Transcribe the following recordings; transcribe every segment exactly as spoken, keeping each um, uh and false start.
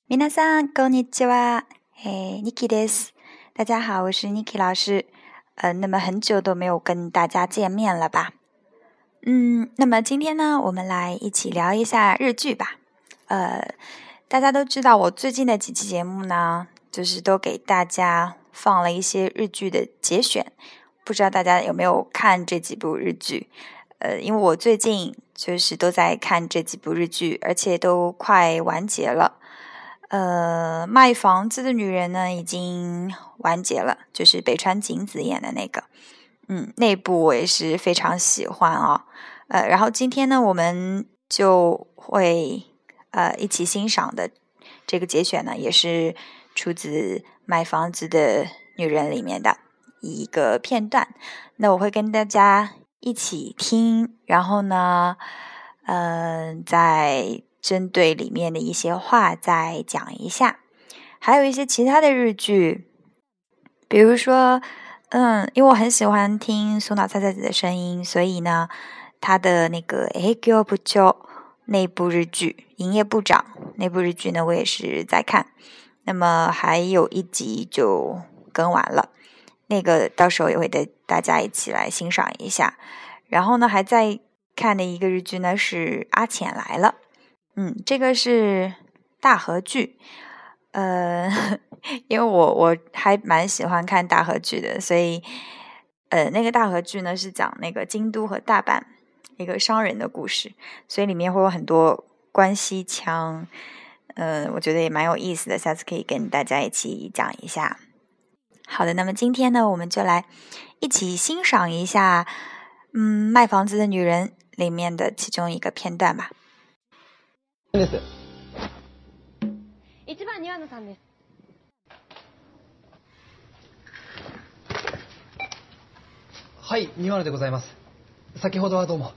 皆さんこんにちは。哎 Niki です。大家好，我是 Niki 老师。呃，那么很久都没有跟大家见面了吧？嗯，那么今天呢，我们来一起聊一下日剧吧。呃，大家都知道，我最近的几期节目呢，就是都给大家放了一些日剧的节选。不知道大家有没有看这几部日剧？呃，因为我最近就是都在看这几部日剧，而且都快完结了。呃，卖房子的女人呢，已经完结了，就是北川景子演的那个，嗯，那部我也是非常喜欢啊、哦。呃，然后今天呢，我们就会呃一起欣赏的这个节选呢，也是出自《卖房子的女人》里面的一个片段。那我会跟大家一起听，然后呢，嗯、呃，在针对里面的一些话再讲一下，还有一些其他的日剧，比如说，嗯，因为我很喜欢听松岛菜菜子的声音，所以呢，他的那个《営業部長》那部日剧，营业部长那部日剧呢，我也是在看。那么还有一集就更完了，那个到时候也会带大家一起来欣赏一下。然后呢，还在看的一个日剧呢是《阿浅来了》。嗯，这个是大河剧，呃，因为我我还蛮喜欢看大河剧的，所以，呃，那个大河剧呢是讲那个京都和大阪一个商人的故事，所以里面会有很多关西腔，呃，我觉得也蛮有意思的，下次可以跟大家一起讲一下。好的，那么今天呢，我们就来一起欣赏一下，嗯，《卖房子的女人》里面的其中一个片段吧。 です一番庭野さんです。 はい、庭野でございます。先ほどはどうも。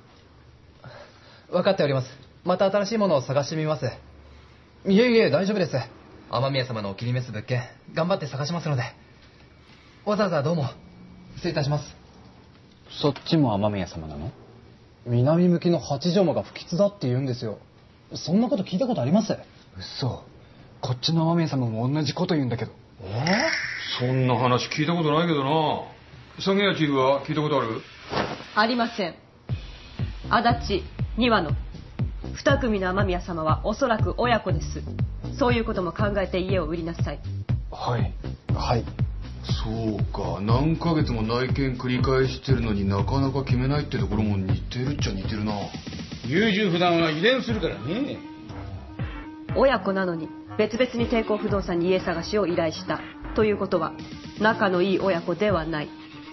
分かっております。また新しいものを探してみます。いえいえ、大丈夫です。雨宮様のお気に召す物件、頑張って探しますので。わざわざどうも。失礼いたします。 そっちも雨宮様なの？ 南向きの八丈間が不吉だって言うんですよ。そんなこと聞いたことあります？ 嘘。こっちの雨宮様も同じこと言うんだけど。 えー、そんな話聞いたことないけどな。三谷チーフは聞いたことある？ ありません。足立、庭野、二組の雨宮様はおそらく親子です。そういうことも考えて家を売りなさい。 はいはいそうか、何ヶ月も内見繰り返してるのになかなか決めないってところも似てるっちゃ似てるな。 優柔不断は遺伝するからね。 親子なのに別々に帝国不動産に家探しを依頼したということは仲のいい親子ではない。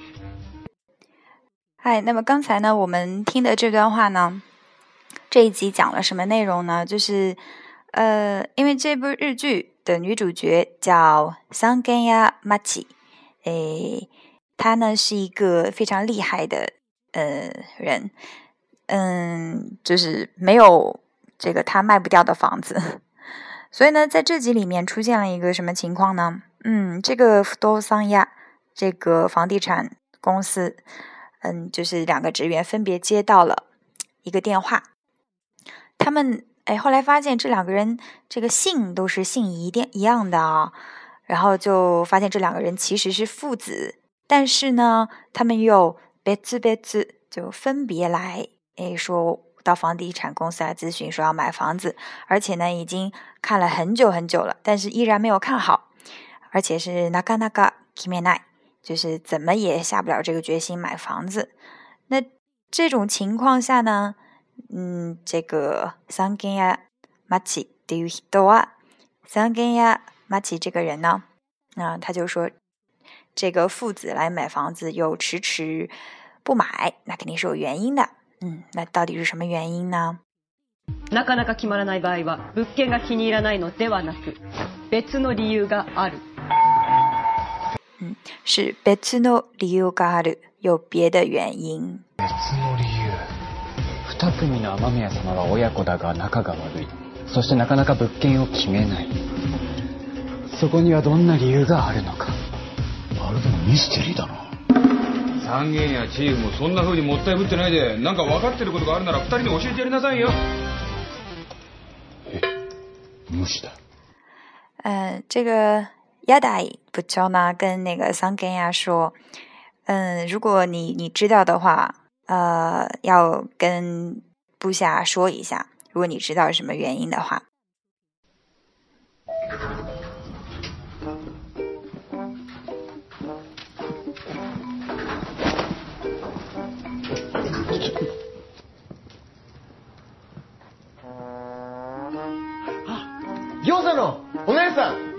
嗨，那么刚才呢，我们听的这段话呢，这一集讲了什么内容呢？就是呃，因为这部日剧的女主角叫三根屋麻纪，诶，她呢是一个非常厉害的呃人，嗯，就是没有这个她卖不掉的房子，所以呢，在这集里面出现了一个什么情况呢？嗯，这个不动産屋这个房地产公司。嗯，就是两个职员分别接到了一个电话，他们哎后来发现这两个人这个姓都是姓一定一样的啊，然后就发现这两个人其实是父子，但是呢，他们又别自别自就分别来哎说到房地产公司来咨询说要买房子，而且呢已经看了很久很久了，但是依然没有看好，而且是なかなか決めない。就是怎么也下不了这个决心买房子。那这种情况下呢，嗯，这个三根屋麻纪っていう人は、三根屋麻纪这个人呢，那他就说，这个父子来买房子又迟迟不买，那肯定是有原因的。嗯，那到底是什么原因呢？ なかなか決まらない場合は、物件が気に入らないのではなく、別の理由がある。 嗯，是別の理由がある，有别的原因。 別の理由。二組の雨宮様は親子だが仲が悪い。そしてなかなか物件を決めない。そこにはどんな理由があるのか。 まるでもミステリーだな。 三軒やチーフもそんな風にもったいぶってないで、なんか分かってることがあるなら二人に教えてやりなさいよ。 え、無視だ。 嗯，这个亚代部長呢跟那个桑根亚说，嗯，如果你你知道的话，呃，要跟部下说一下，如果你知道什么原因的话。 餃子のお姉さん、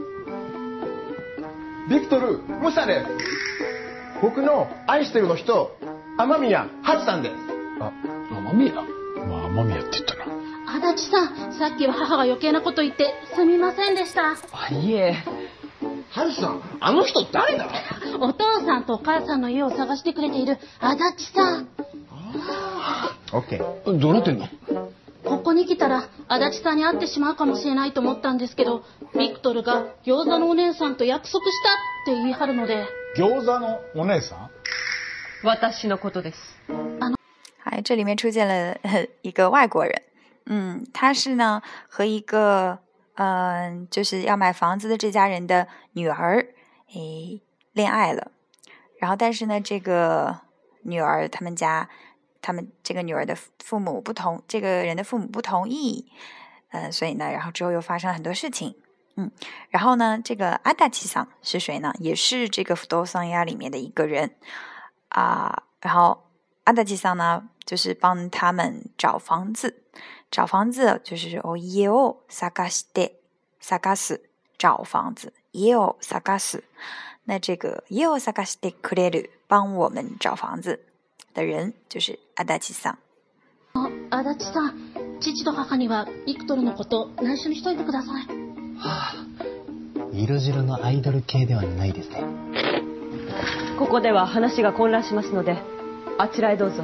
ビクトル・ムサです。僕の愛してるの人、雨宮ハチさんです。 あ、雨宮まあ雨宮って言ったな。 足立さん、さっきは母が余計なこと言ってすみませんでした。 あ、いえ。 ハチさん、あの人誰だ？ お父さんとお母さんの家を探してくれている足立さん。 オッケー。どうなってんの？ ここに来たら足立さんに会ってしまうかもしれないと思ったんですけど、ビクトルが餃子のお姉さんと約束したって言い張るので。 餃子のお姉さん？ 私のことです。 哎，这里面出现了一个外国人，嗯，他是呢和一个嗯、呃、就是要买房子的这家人的女儿诶恋爱了，然后但是呢这个女儿他们家。他们这个女儿的父母不同，这个人的父母不同意，呃，所以呢，然后之后又发生了很多事情，嗯，然后呢，这个阿达奇桑是谁呢？也是这个福多桑亚里面的一个人啊、呃，然后阿达奇桑呢，就是帮他们找房子，找房子就是哦耶哦萨嘎西的萨嘎斯找房子耶哦萨嘎斯，那这个耶哦萨嘎西的克雷鲁帮我们找房子。的人就是足立さん。 足立さん、父と母にはビクトルのこと内緒にしといてください。 はあ、色白のアイドル系ではないですね。 ここでは話が混乱しますので、あちらへどうぞ。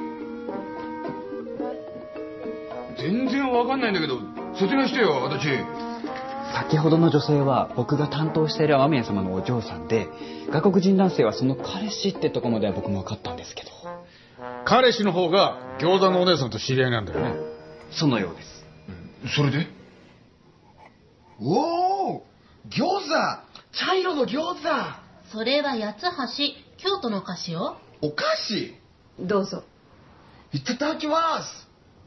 全然わかんないんだけど、説明してよ、足立。 先ほどの女性は僕が担当している雨宮様のお嬢さんで、外国人男性はその彼氏ってとこまでは僕も分かったんですけど。 彼氏の方が餃子のお姉さんと知り合いなんだよね。 そのようです。 うん、それで？ おお、餃子、茶色の餃子。 それは八つ橋、京都のお菓子よ。 お菓子？ どうぞ。 いただきます。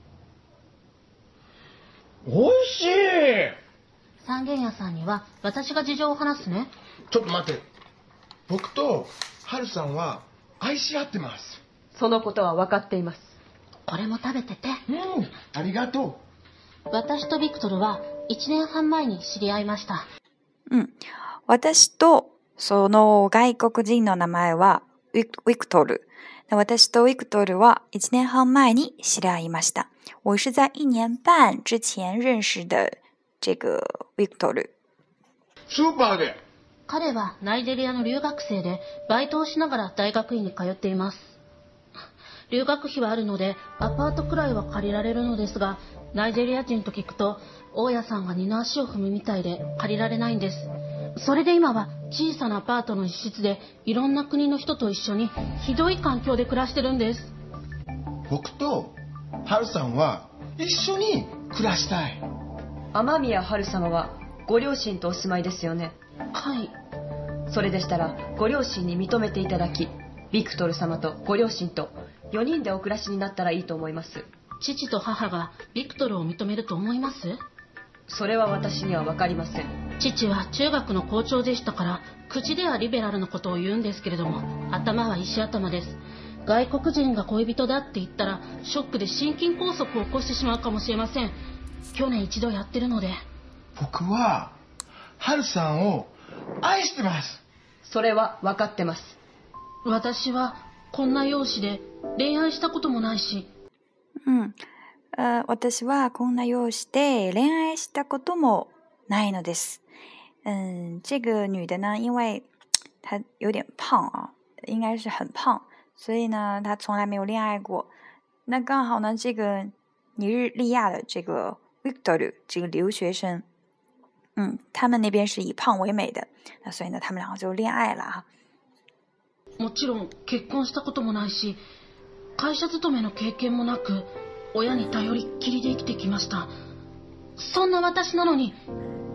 おいしい。 三軒屋さんには私が事情を話すね。 ちょっと待って。僕と春さんは愛し合ってます。 そのことは分かっています。 これも食べてて。 うん、ありがとう。私とビクトルはいちねんはん前に知り合いました。 うん。私とその外国人の名前はウィクトル。私とウィクトルはいちねんはん前に知り合いました。我是在一年半之前认识的这个ウィクトル。 スーパーで。 彼はナイジェリアの留学生でバイトをしながら大学院に通っています。留学費はあるのでアパートくらいは借りられるのですが、ナイジェリア人と聞くと大家さんが二の足を踏むみたいで借りられないんです。それで今は小さなアパートの一室でいろんな国の人と一緒にひどい環境で暮らしてるんです。 僕と春さんは一緒に暮らしたい。 雨宮春様はご両親とお住まいですよね。 はい。 それでしたらご両親に認めていただき、ビクトル様とご両親とよにんでお暮らしになったらいいと思います。 父と母がビクトルを認めると思います？ それは私には分かりません。 父は中学の校長でしたから、口ではリベラルのことを言うんですけれども、頭は石頭です。外国人が恋人だって言ったらショックで心筋梗塞を起こしてしまうかもしれません。去年一度やってるので。 僕は春さんを愛してます。 それは分かってます。 私はこんな容姿で恋愛したこともないし。 うん。呃、私はこんな容姿で恋愛したこともないのです。嗯，这个女的呢，因为她有点胖啊，应该是很胖，所以呢，她从来没有恋爱过。那刚好呢，这个尼日利亚的这个 Victor 这个留学生，嗯，他们那边是以胖为美的，那所以呢，他们两个就恋爱了哈。 もちろん結婚したこともないし、会社勤めの経験もなく、親に頼りっきりで生きてきました。そんな私なのに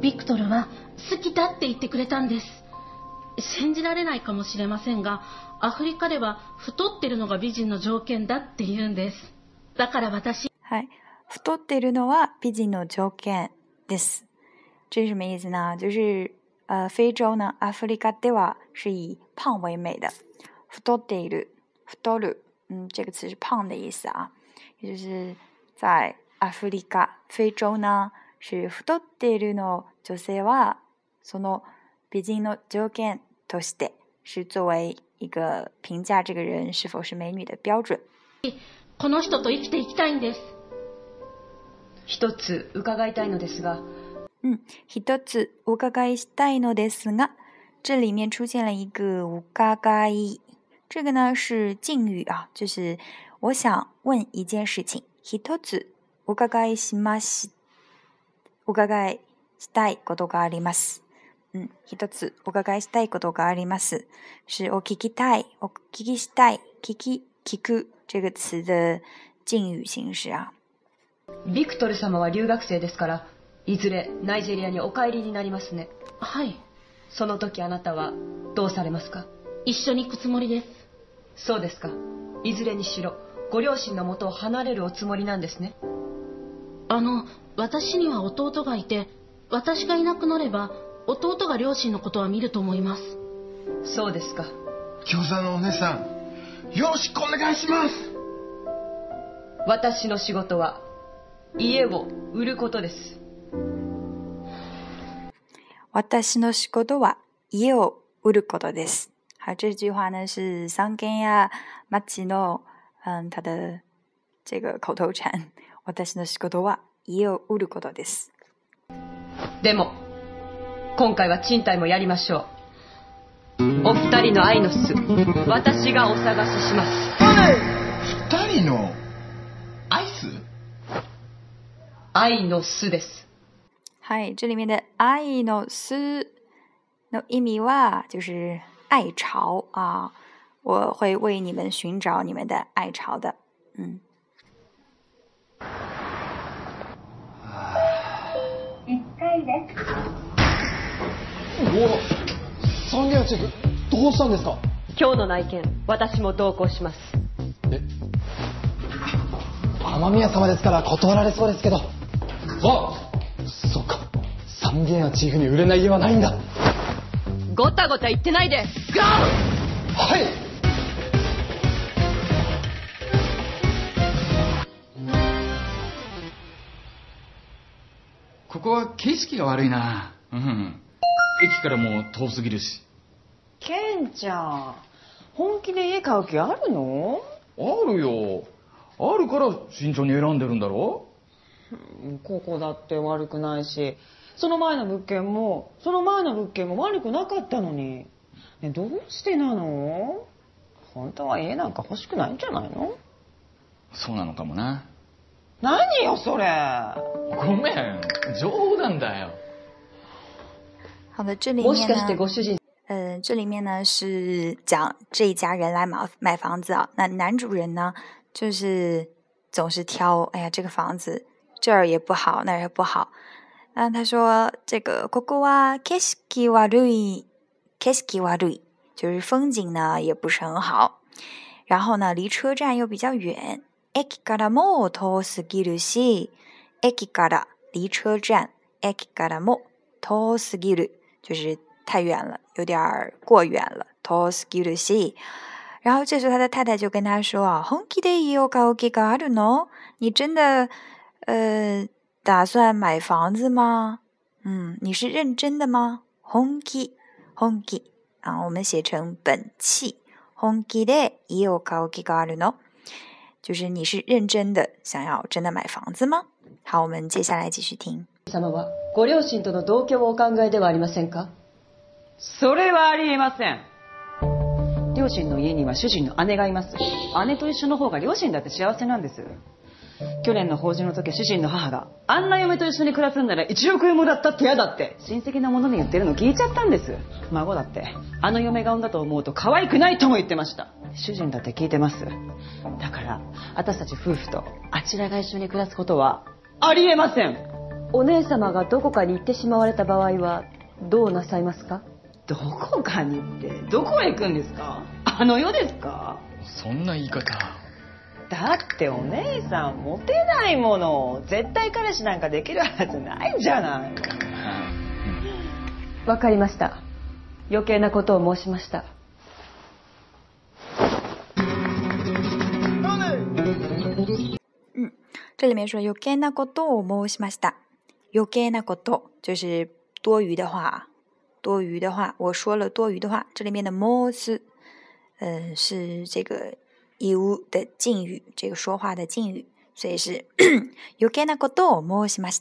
ビクトルは好きだって言ってくれたんです。信じられないかもしれませんが、アフリカでは太ってるのが美人の条件だって言うんです。だから私、 はい、太っているのは美人の条件です。这是什么意思呢？就是呃，非洲呢，阿弗利卡では是以胖为美的。太っている、太る，嗯，这个词是胖的意思啊，也就是在アフリカ、非洲呢，是太っているの女性はその美人の条件として是作为一个评价这个人是否是美女的标准。 この人と生きていきたいんです。 一つ伺いたいのですが。 嗯，一つお伺いしたいのですが，这里面出现了一个お伺い，这个呢是敬语啊，就是我想问一件事情。一つお伺いします。お伺いしたいことがあります。嗯，一つお伺いしたいことがあります，是お聞きたい、お聞きしたい、聞き、聞く这个词的敬语形式啊。 ビクトル様は留学生ですから、いずれナイジェリアにお帰りになりますね。 はい。 その時あなたはどうされますか？ 一緒に行くつもりです。 そうですか。いずれにしろご両親の元を離れるおつもりなんですね。 あの、私には弟がいて、私がいなくなれば弟が両親のことは見ると思います。 そうですか。 餃子のお姉さん、よろしくお願いします。 私の仕事は家を売ることです。 私の仕事は家を売ることです。好，这句话呢是桑根呀马奇诺，嗯，他的这个口头禅。私の仕事は家を売ることです。 でも今回は賃貸もやりましょう。お二人の愛の巣、私がお探しします。 二人のアイス？ 愛の巣です。 はい、这里面的愛の巣の意味は就是爱巢啊，我会为你们寻找你们的爱巢的。嗯。 一回です。 お、サンゲアチェフ、どうしたんですか？ 今日の内見、私も同行します。 え、雨宮様ですから断られそうですけど。あ、そっか。サンゲアチーフに売れない家はないんだ。 ごたごた言ってないで。ゴー！ はい。 ここは景色が悪いな。うん。駅からも遠すぎるし。 ケンちゃん、本気で家買う気あるの？ あるよ。あるから慎重に選んでるんだろ？ ここだって悪くないし、その前の物件もその前の物件も悪くなかったのに、ね、どうしてなの？本当は家なんか欲しくないんじゃないの？ そうなのかもな。 何よそれ。 ごめん、冗談だよ。 好的，这里面呢，呃，这里面呢是讲这一家人来买买房子啊。那男主人呢，就是总是挑，哎呀，这个房子这儿也不好，那儿也不好。那他说这个ここは景色悪い，景色悪い，就是风景呢也不是很好。然后呢，离车站又比较远。駅からも遠すぎるし、駅から离车站，駅からも遠すぎる。就是太远了，有点过远了。遠すぎるし，然后这时候他的太太就跟他说啊，本気で家を買う気があるの？你真的呃打算买房子吗？嗯，你是认真的吗？本気，本気啊，我们写成本气。本気で家を買う気があるの？就是你是认真的想要真的买房子吗？好，我们接下来继续听。 様はご両親との同居をお考えではありませんか？ それはありえません。両親の家には主人の姉がいます。姉と一緒の方が両親だって幸せなんです。去年の法事の時、主人の母があんな嫁と一緒に暮らすんならいちおくえんもらったって嫌だって親戚なものに言ってるの聞いちゃったんです。孫だってあの嫁が産んだと思うと可愛くないとも言ってました。主人だって聞いてます。だから私たち夫婦とあちらが一緒に暮らすことはありえません。 お姉様がどこかに行ってしまわれた場合はどうなさいますか？ どこかにってどこへ行くんですか？あの世ですか？ そんな言い方。 だってお姉さんモテないもの。絶対彼氏なんかできるはずないんじゃない。 わかりました。余計なことを申しました。 嗯，这里面说余計なことを申しました。余計なこと就是多余的话，多余的话，我说了多余的话。这里面的申す，嗯，是这个言う的敬语，这个说话的敬语，所以是余計なことを申しました。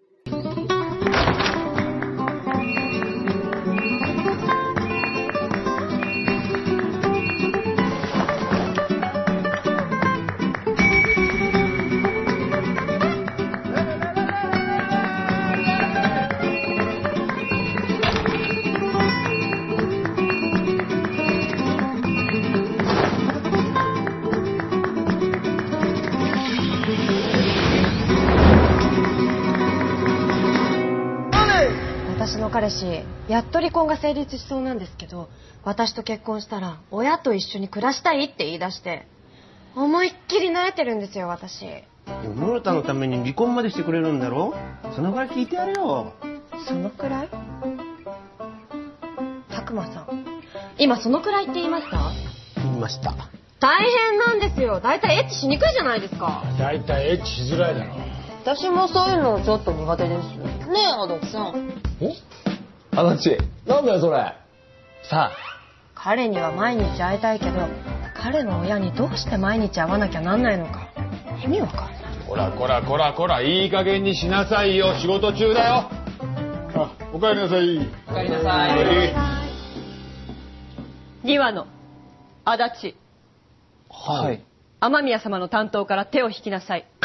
私の彼氏やっと離婚が成立しそうなんですけど、私と結婚したら親と一緒に暮らしたいって言い出して、思いっきり慣れてるんですよ私。でも室田のために離婚までしてくれるんだろ。そのぐらい聞いてやれよ。 そのくらい？拓磨さん、今そのくらいって言いました？ 言いました。 大変なんですよ。だいたいエッチしにくいじゃないですか。 だいたいエッチしづらいだろ。 私もそういうのちょっと苦手です。ねえ足立さん。 お？足立、なんだよそれ。さあ。 彼には毎日会いたいけど、彼の親にどうして毎日会わなきゃなんないのか意味わかんない。 こらこらこらこら、いい加減にしなさいよ。仕事中だよ。あ、おかえりなさい。 おかえりなさい。にわの足立。 はい。 雨宮様の担当から手を引きなさい。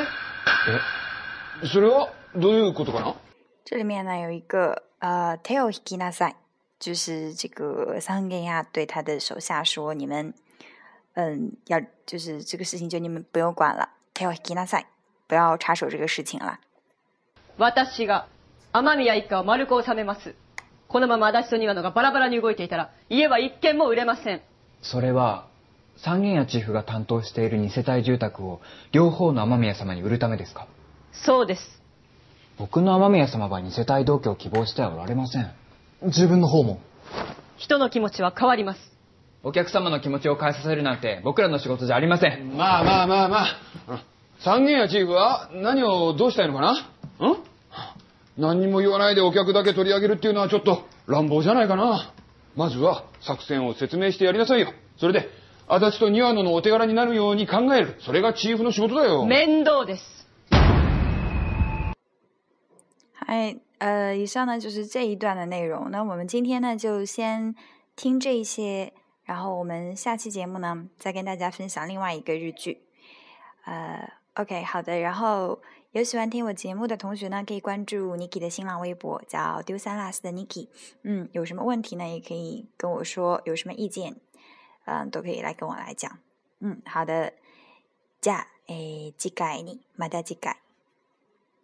え？それはどういうことかな？ 这里面呢有一个呃手を引きなさい，就是这个桑根亚对他的手下说：“你们，嗯，要就是这个事情就你们不用管了，手を引きなさい，不要插手这个事情了。” 私が雨宮一家を丸く収めます。このまま足立と庭野がバラバラに動いていたら家は一軒も売れません。 それは三軒家チーフが担当している二世帯住宅を両方の雨宮様に売るためですか？ そうです。 僕の雨宮様は二世帯同居を希望してはおられません。 自分の方も。 人の気持ちは変わります。 お客様の気持ちを変えさせるなんて僕らの仕事じゃありません。 まあまあまあまあ。三軒家チーフは何をどうしたいのかな？ん？何にも言わないでお客だけ取り上げるっていうのはちょっと乱暴じゃないかな。まずは作戦を説明してやりなさいよ。それで足立と庭野のお手柄になるように考える。それがチーフの仕事だよ。 面倒です。 嗨，呃，以上呢就是这一段的内容。那我们今天呢就先听这一些，然后我们下期节目呢再跟大家分享另外一个日剧。呃 ，OK， 好的。然后有喜欢听我节目的同学呢，可以关注 Niki 的新浪微博，叫丢三落四的 Niki。嗯，有什么问题呢，也可以跟我说，有什么意见，嗯、呃，都可以来跟我来讲。嗯，好的。じゃあ、えー、次回にまた次回。